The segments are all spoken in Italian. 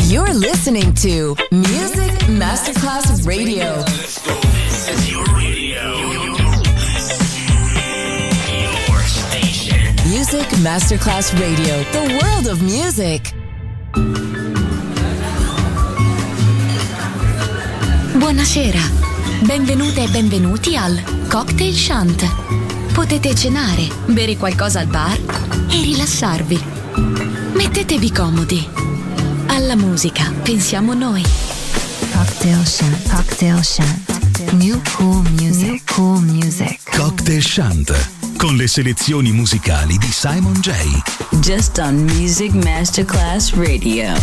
You're listening to Music Masterclass Radio. Let's go. This is your radio. Your station. Music Masterclass Radio. The world of music. Buonasera. Benvenute e benvenuti al Cocktail Shant. Potete cenare, bere qualcosa al bar e rilassarvi. Mettetevi comodi. Alla musica pensiamo noi. Cocktail Shant. Cocktail Shant. New cool music. New cool music. Cocktail Shant. Con le selezioni musicali di Simon J. Just on Music Masterclass Radio.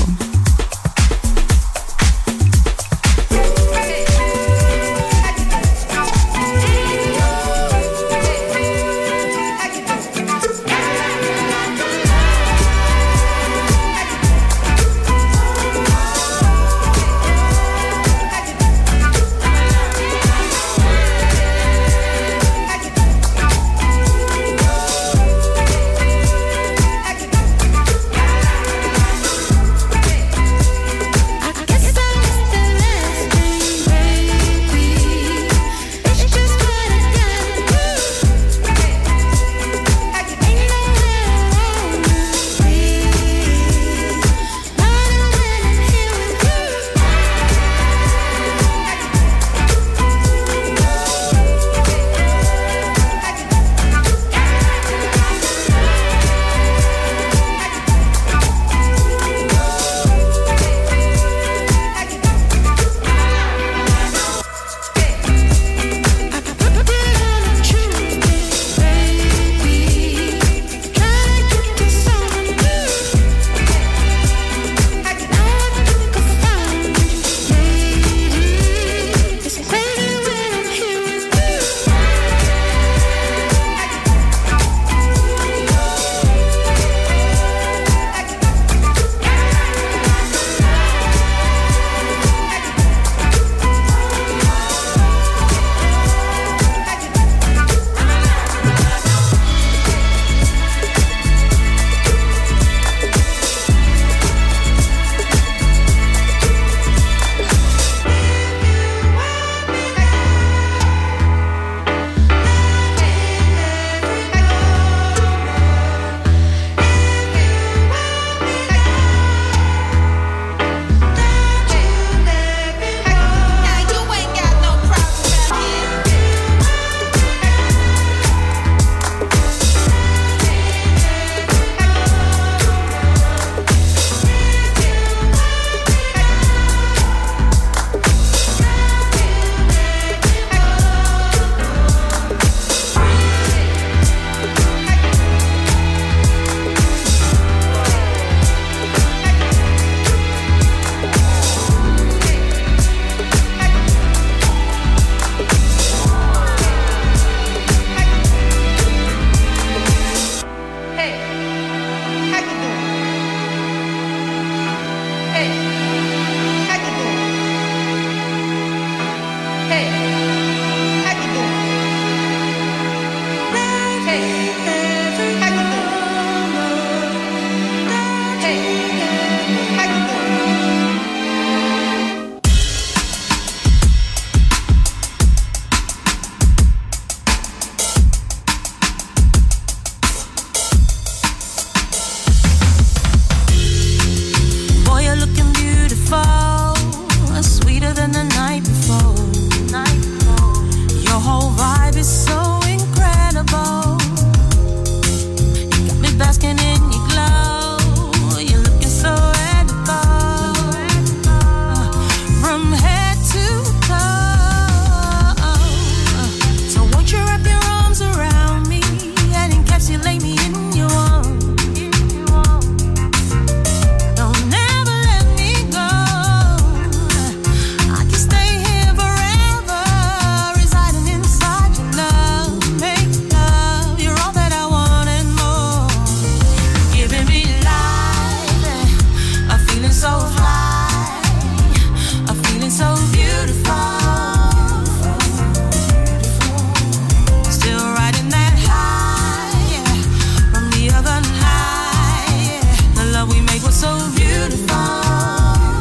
so beautiful.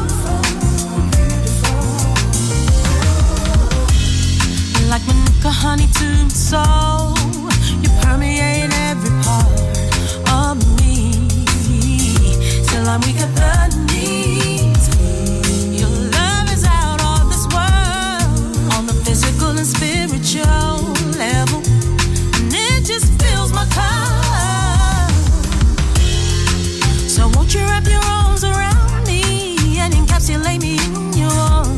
I'm weak at the knees. Your love is out of this world, on the physical and spiritual level, and it just fills my cup. So won't you wrap your arms around me and encapsulate me in your arms?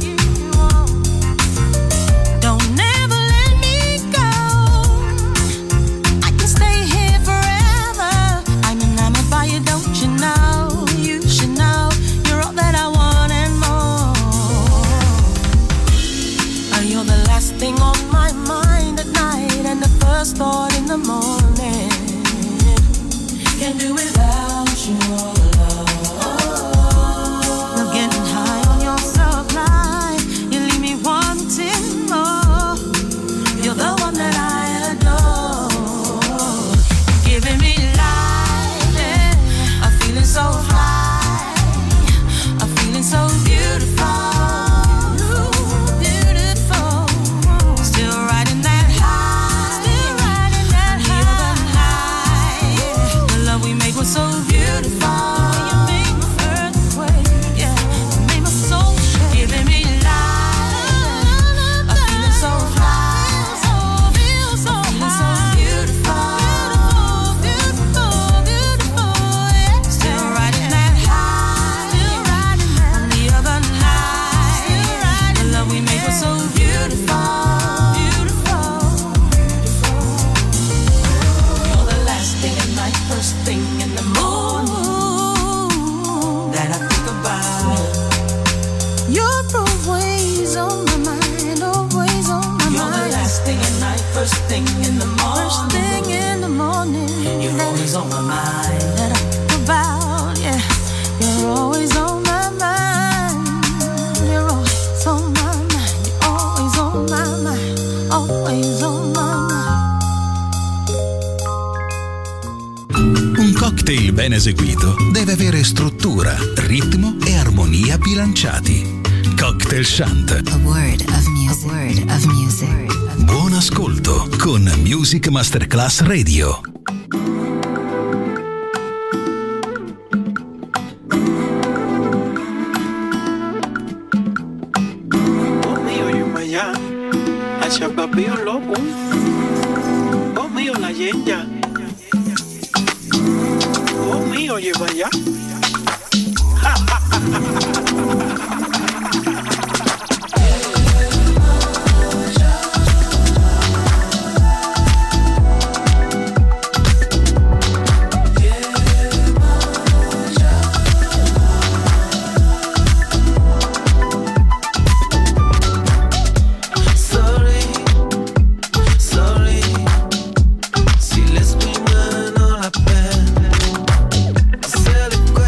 Thing on my mind at night and the first thought in the morning. Can't do without you, oh love. Love getting high on your supply. You leave me wanting more. You're the one that I adore. Giving me life, yeah. I'm feeling so high. I'm feeling so beautiful. So beautiful, you make my earthquake, yeah. You make my soul shake, giving me life. I'm feeling so high, I'm feeling so beautiful, beautiful, beautiful, yeah. Still riding that high, on the other night. The love we made was so beautiful, beautiful. You're the last thing at night, first thing in the morning that I think about. You're always on my mind, always on my mind. You're the last thing at night, first thing in the morning. First thing in the morning. You're always on my mind. That I think about, yeah. You're always on my mind. You're always on my mind. You're always on my mind. Always on my mind. Un cocktail ben eseguito deve avere struttura, ritmo e armonia bilanciati. Cocktail Shant. A word of music. A word of music. Buon ascolto con Music Masterclass Radio. Oh mio, io maya, hacia papi yo loco. Oh mio, la yenya. Oh mío, lleva ya. Si les prima no la pena, se le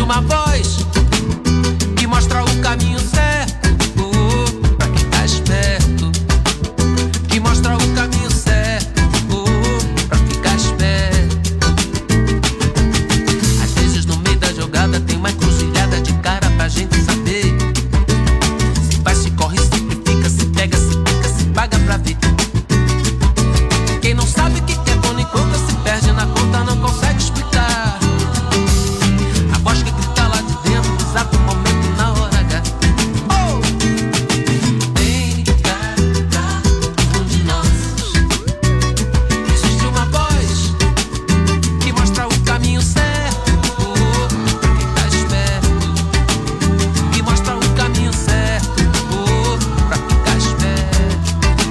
uma voz que mostra o caminho certo pra quem tá esperto, que mostra o caminho certo pra ficar esperto. Às vezes no meio da jogada tem uma encruzilhada de cara pra gente saber se vai, se corre, se simplifica, se pega, se pica, se paga pra ver. Quem não sabe o que é quando encontra se perde na conta, não consegue explicar. A voz que grita lá de dentro, exato momento na hora H. Oh! Tem cada um de nós. Existe uma voz que mostra o caminho certo pra quem tá esperto, que mostra o caminho certo pra ficar esperto.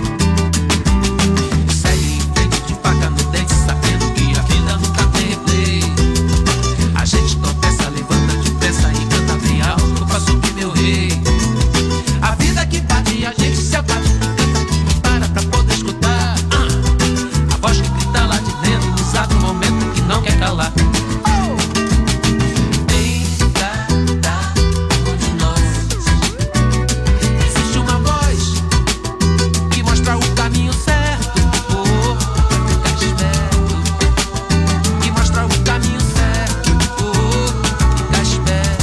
Segue em frente de faca no dente, sabendo que a vida nunca tem replay. A gente tropeça, levanta depressa e canta bem alto pra subir, meu rei. A vida que bate e a gente se abate, canta que para pra poder escutar. A voz que grita lá de dentro, no exato momento que não quer calar. Oh! Tem cada um de nós. Existe uma voz que mostra o caminho certo pra ficar esperto, que mostra o caminho certo pra ficar esperto.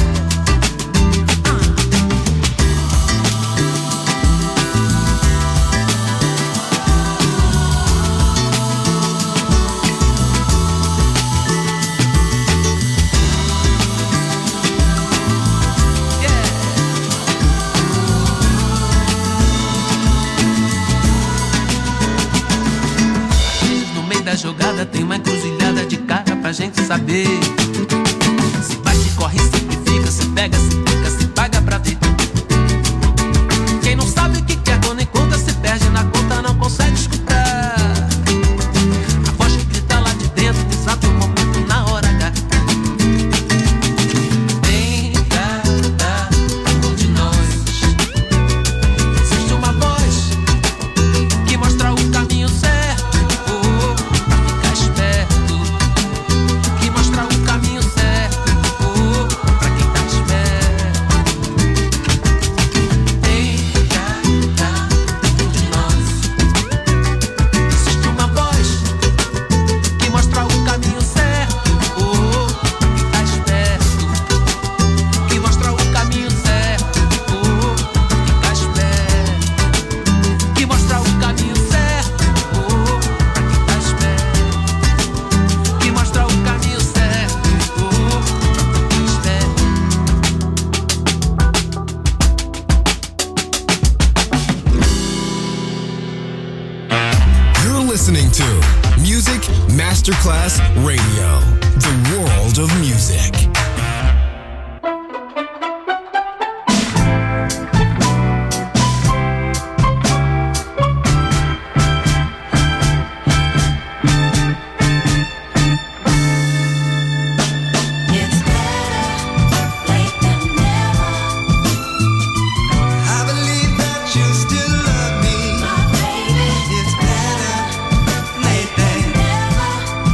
No meio da jogada tem uma encruzilhada de cara pra gente saber se vai, se corre, se simplifica, se pega, se pica, se paga pra ver. Quem não sabe o que quer quando encontra se perde na conta, não consegue escutar. A voz que grita lá de dentro, no exato momento na hora H. Tem cada um de nós. Existe uma voz que mostra o caminho certo pra ficar esperto, que mostra o caminho certo pra quem tá esperto. Tem cada um de nós. Existe uma voz que mostra o caminho certo pra quem tá esperto, que mostra o caminho certo pra ficar esperto, que mostra o caminho certo pra quem tá esperto, que mostra o caminho certo pra quem tá esperto. You're listening to Music Masterclass Radio, the world of music. It's better late than never. I believe that you still love me. My baby, It's better late than never.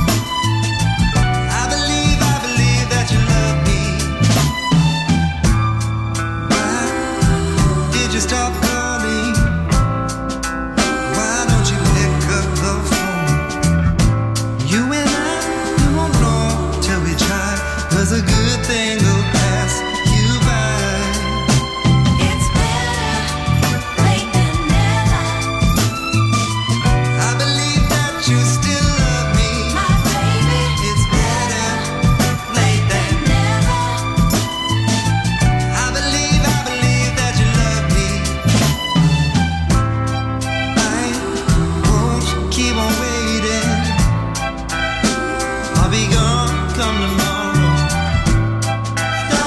I believe that you love me. Why did you stop calling? Why don't you pick up the phone? You and I, we won't know till we try. 'Cause a good thing will pass you by. It's better late than never. I believe that you still love me. My baby, It's better late than never. I believe that you love me. I won't keep on waiting. I'll be gone come tomorrow.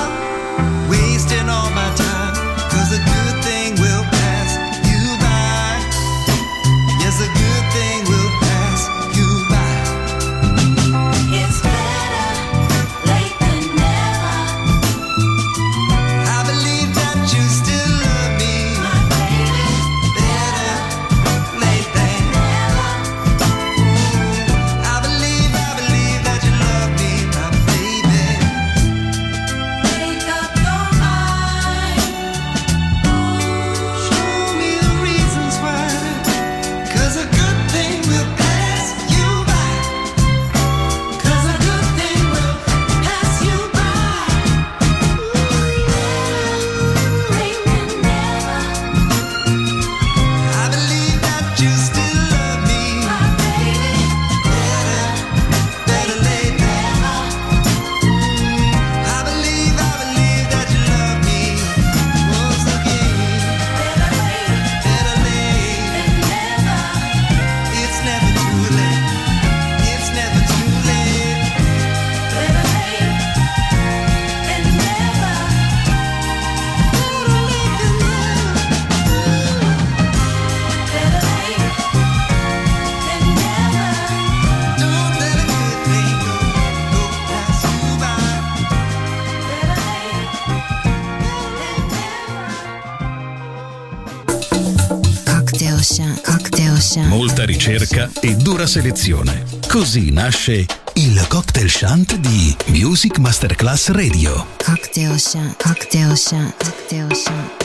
Cocktail Shant. Molta ricerca e dura selezione. Così nasce il Cocktail Shant di Music Masterclass Radio. Cocktail Shant. Cocktail Shant. Cocktail Shant.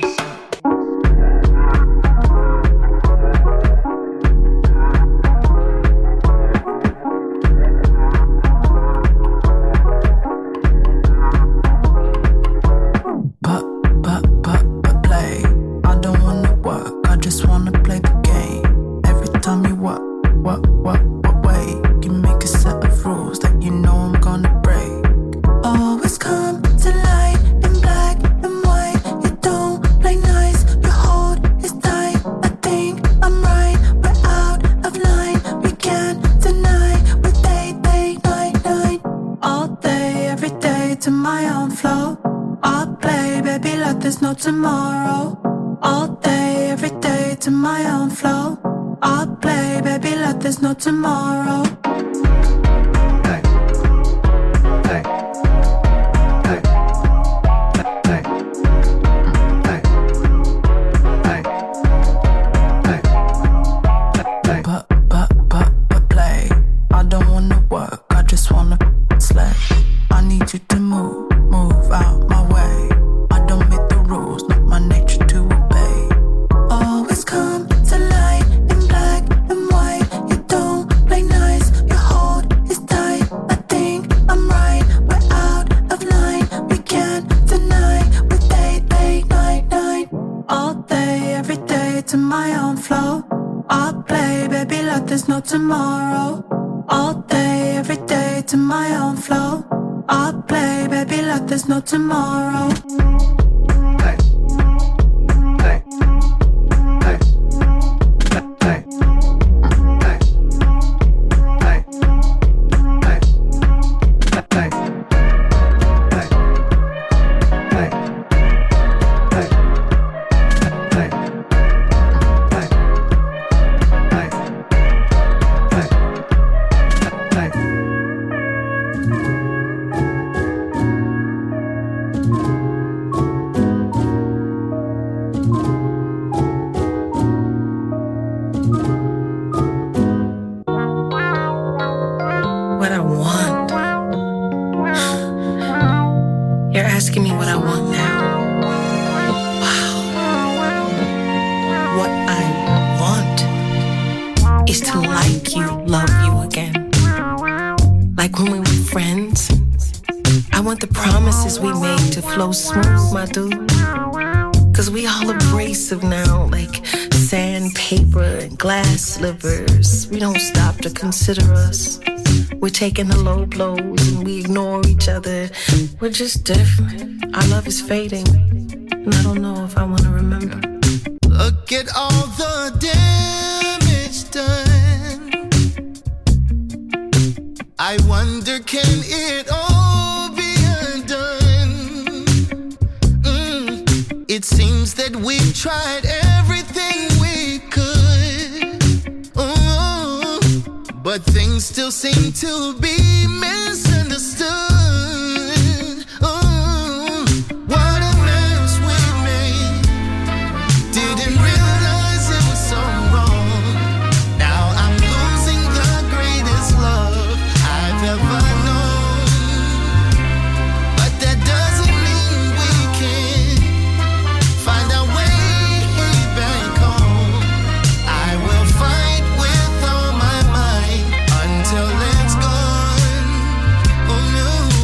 We don't stop to consider us. We're taking the low blows and we ignore each other. We're just different. Our love is fading, and I don't know if I want to remember. Look at all the damage done. I wonder, can it all be undone? It seems that we've tried everything we could. But things still seem to be misunderstood. Oh, what a mess we made. Didn't realize it was so wrong. Now I'm losing the greatest love I've ever known. But that doesn't mean we can't find our way back home. I will fight with all my might until it's gone. Oh no.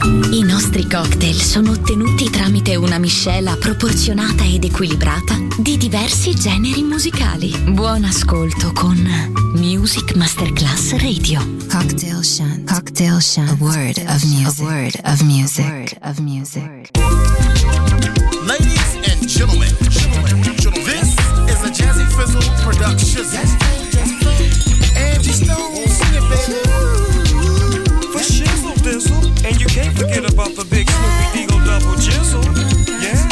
I nostri cocktail sono ottenuti tramite una miscela proporzionata ed equilibrata di diversi generi musicali. Buon ascolto con Music Masterclass Radio. Cocktail Shant. Cocktail Shant. A word of music. A word of music. A word of music. Ladies and gentlemen, this is a Jazzy Fizzle production. Angie Stone, sing it, baby. For shizzle dizzle, and you can't forget about the big Snoopy Deagle double jizzle. Yeah.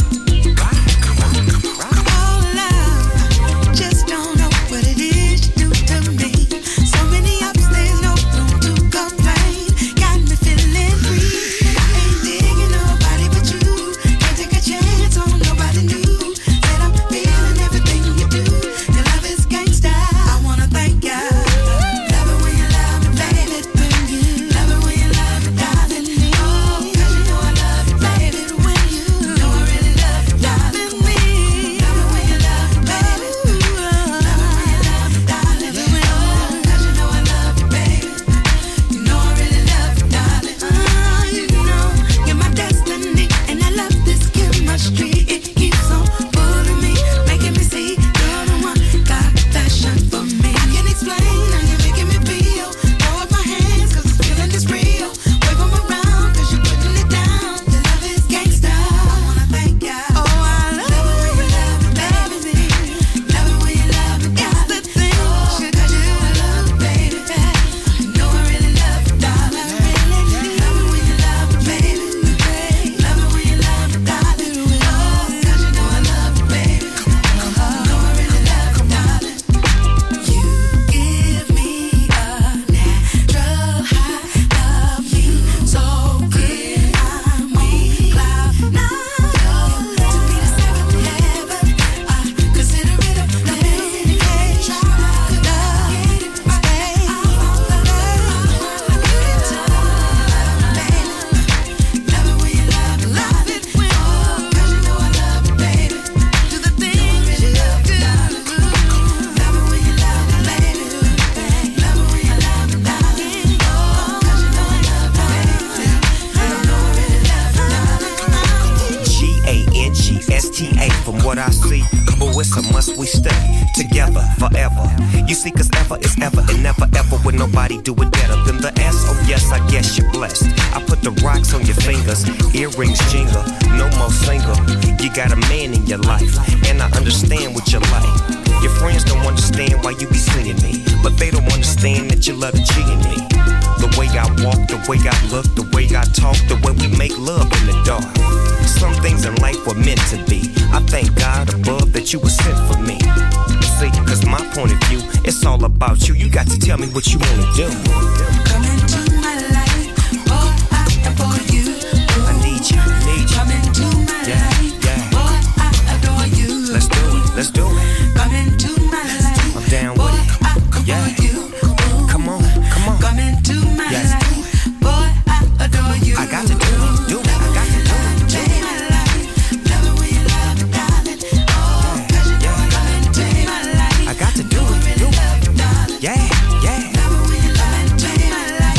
Just don't know what it is you do to me. So many ups, there's no room to complain. Got me feeling free. I ain't digging nobody but you. Can't take a chance on nobody new. Said I'm feeling everything you do. Your love is gangsta. I wanna thank ya. Love it when you love me, baby. Love it when you love me, darling. Oh, 'cause you know I love you, baby. When you know I really love you, darling. Love it when you love me, baby. G-A-N-G-S-T-A. From what I see, oh, it's a must we stay together forever. You see, 'cause ever is ever and never ever would nobody do it better than the S. Oh yes, I guess you're blessed. I put the rocks on your fingers, earrings jingle, no more single. You got a man in your life, and I understand what you like. Your friends don't understand why you be seeing me, but they don't understand that you love the G in me. The way I walk, the way I look, the way I talk, the way we make love in the dark. Some things in life were meant to be. I thank God above that you were sent for me. See, 'cause my point of view, it's all about you. You got to tell me what you wanna do. Come into my life, boy, I adore you. I need you, need you. Come into my life, boy, I adore you. Let's do it, let's do it. Come into my life, I'm down with it. Yeah. Come on, come on. Come into my life, boy, I adore you. I got to do it, do it. I got to do it. Yeah, yeah.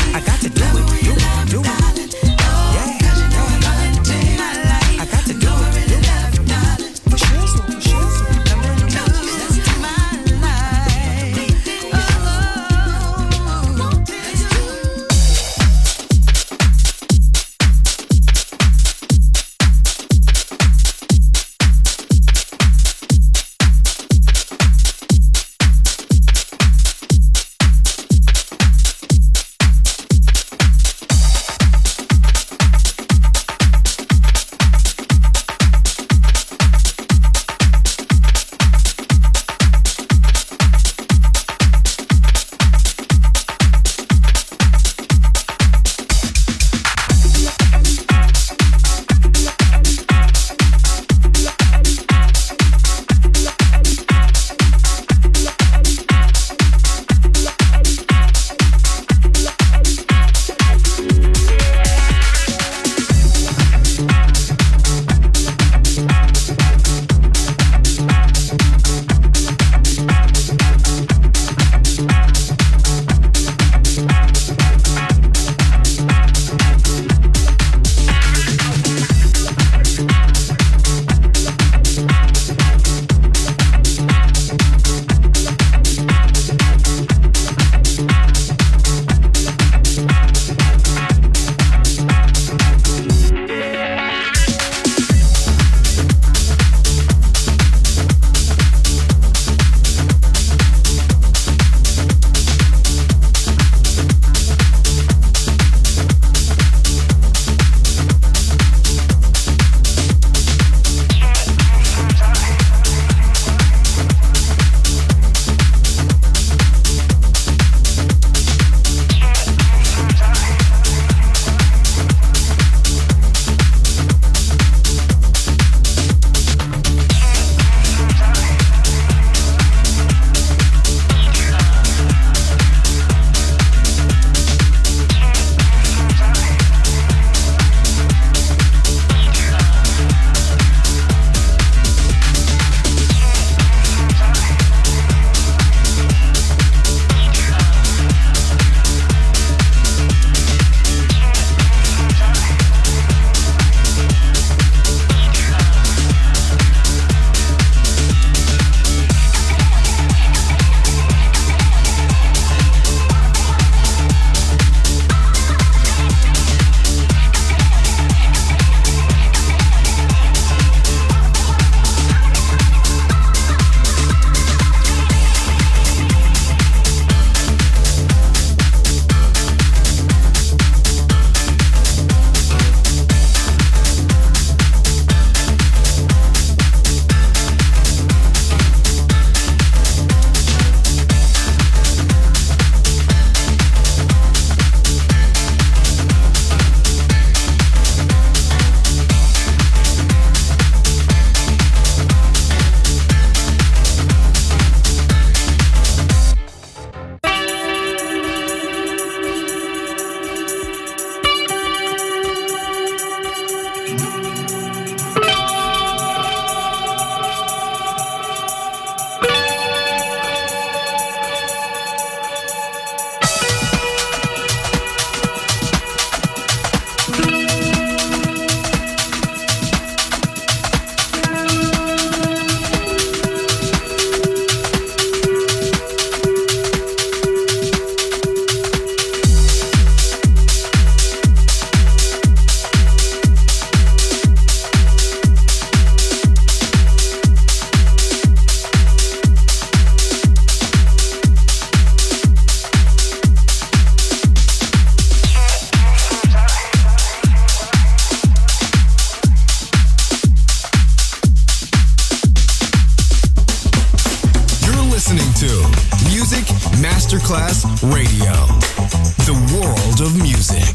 Masterclass Radio. The world of music.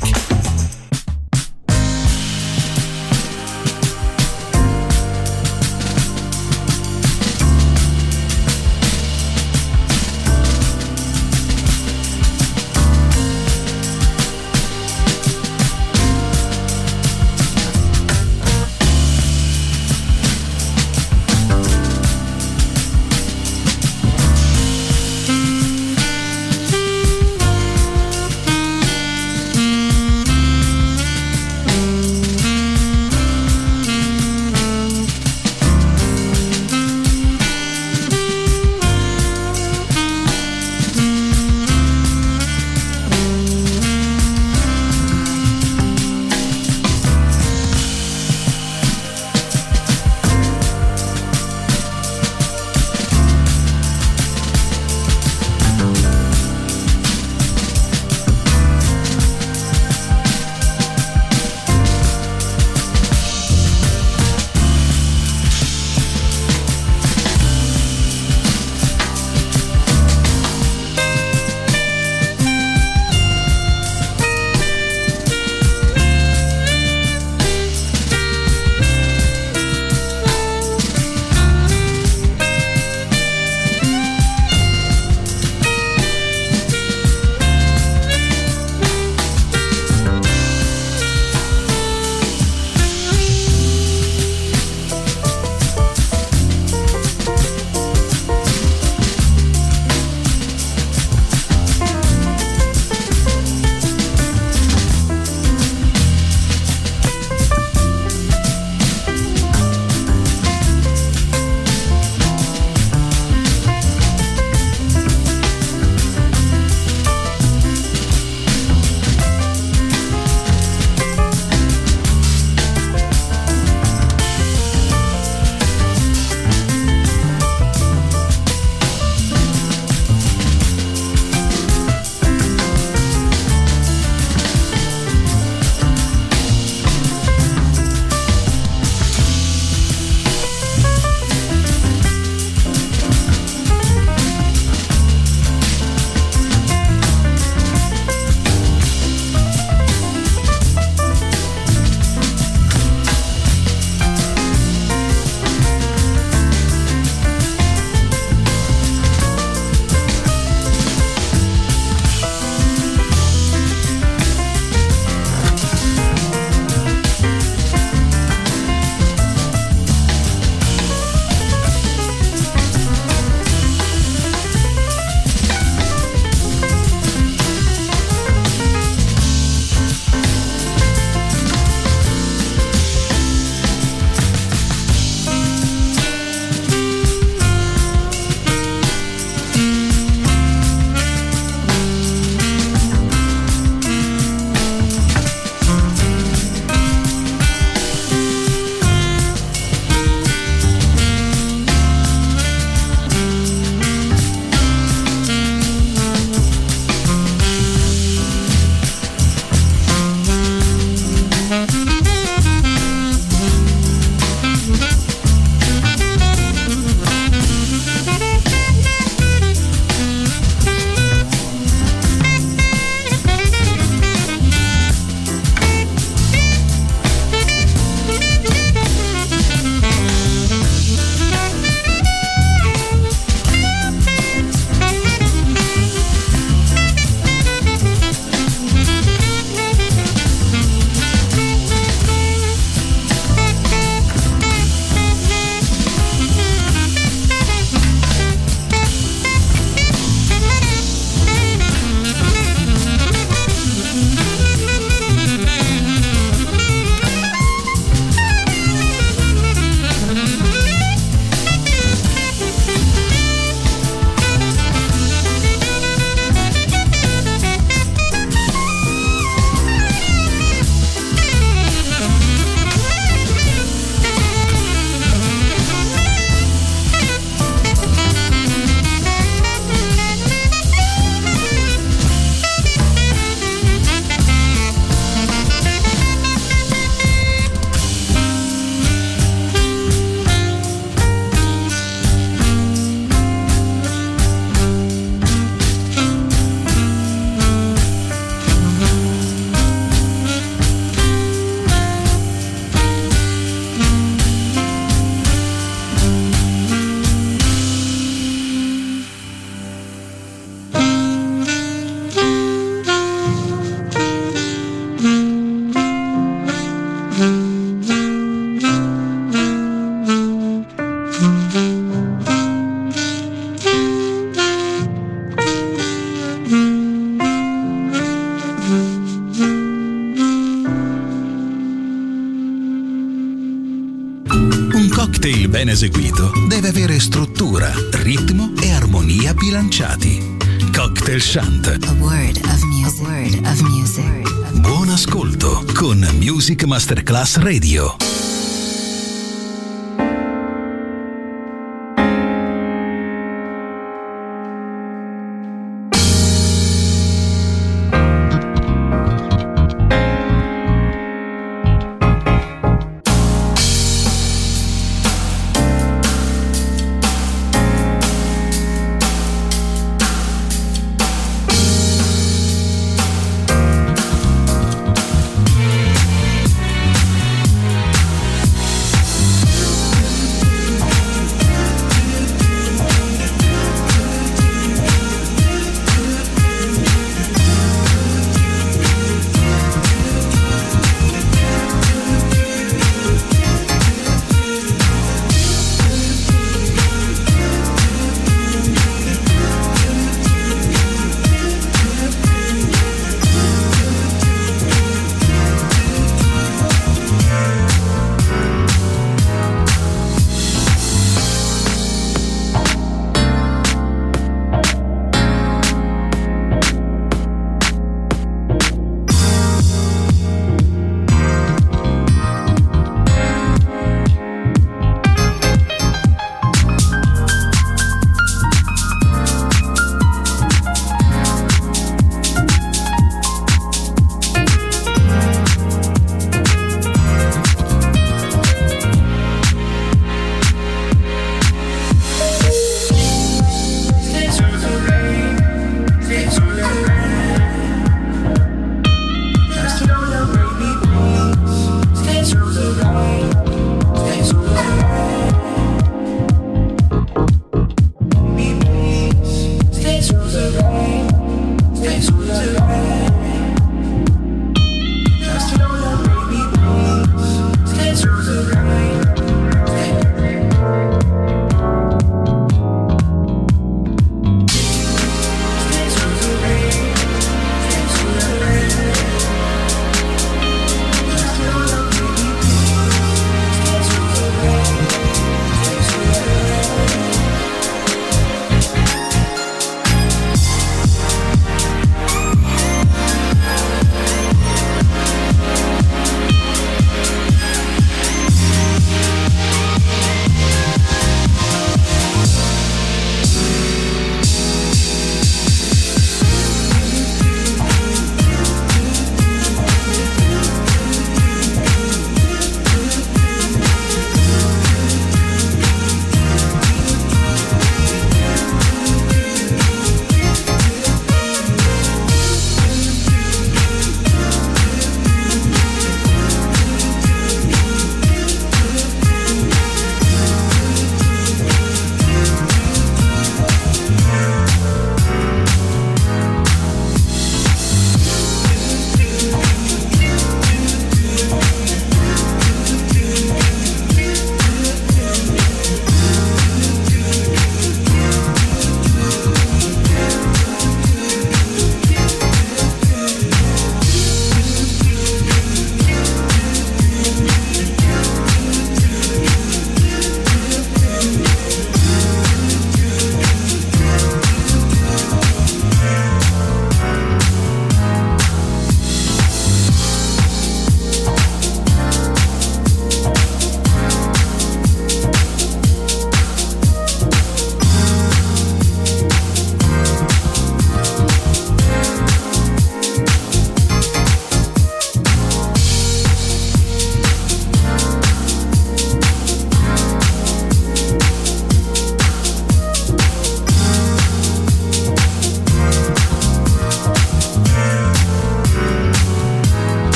eseguito deve avere struttura, ritmo e armonia bilanciati. Cocktail Shant. A word of music. A word of music. Buon ascolto con Music Masterclass Radio.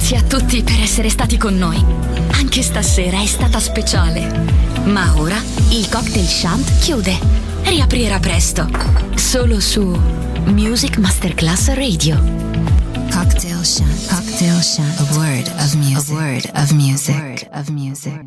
Grazie a tutti per essere stati con noi. Anche stasera è stata speciale. Ma ora il Cocktail Shant chiude. Riaprirà presto. Solo su Music Masterclass Radio. Cocktail Shant. Cocktail Shant. A word of music. A word of music.